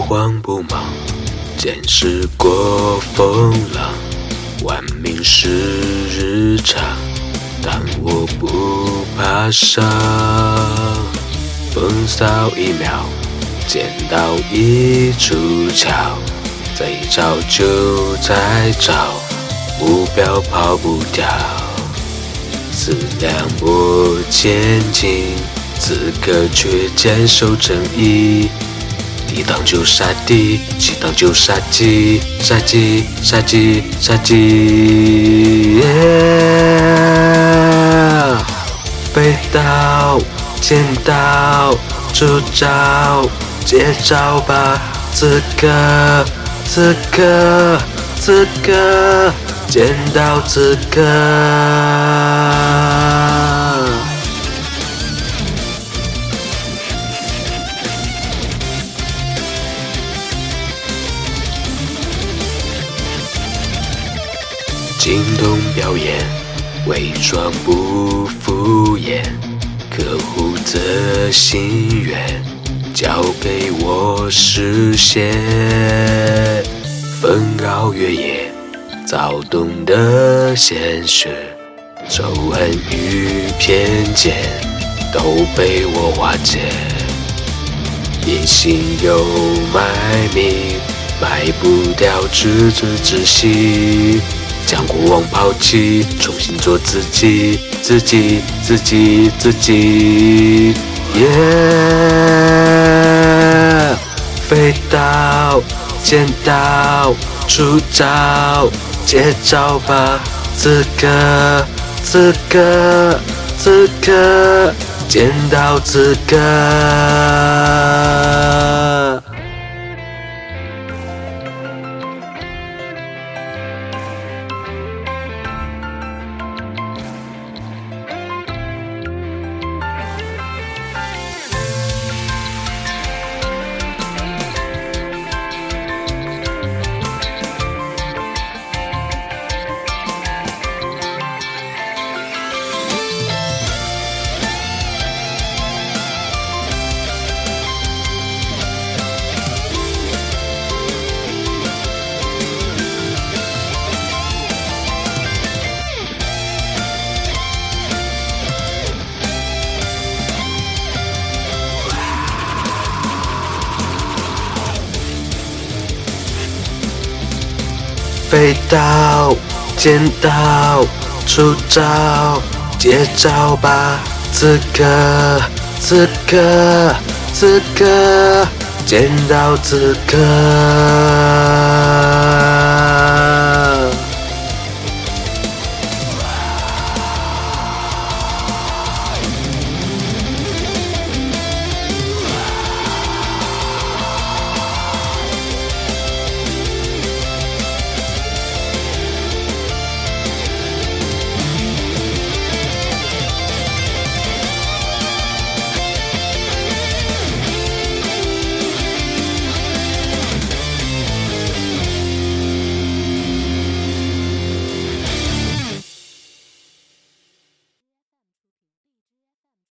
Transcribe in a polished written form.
慌不忙，见识过风浪，玩命是日常，但我不怕伤。风骚一秒，见到一出鞘，再找就再找，目标跑不掉。思量我前进，此刻却坚守正义。抵挡就杀敌，抵挡就杀鸡，杀鸡，杀鸡，杀鸡。飞刀，剑刀，出招，接招吧！此刻，此刻，此刻，见到此刻。惊动表演，伪装不敷衍，客户的心愿交给我实现。纷扰越野，躁动的现实，仇恨与偏见都被我化解。隐形又卖命，卖不掉自尊自惜。将过往抛弃，重新做自己，自己，自己，自己。飞刀，剑刀，出招，接招吧！此刻，此刻，此刻，见到此刻。飞刀，剑刀，出招，接招吧！此刻，此刻，此刻，见到此刻。